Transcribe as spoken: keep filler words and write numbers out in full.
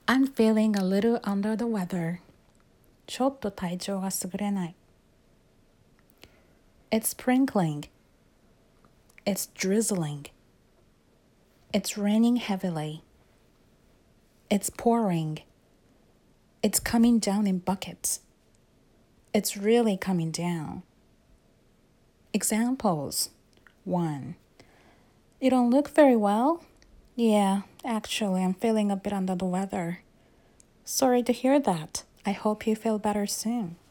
I'm feeling a little under the weather. ちょっと体調が優れない。It's sprinkling. It's drizzling. It's raining heavily. It's pouring. It's coming down in buckets. It's really coming down. Examples. one. You don't look very well. Yeah, actually, I'm feeling a bit under the weather. Sorry to hear that. I hope you feel better soon.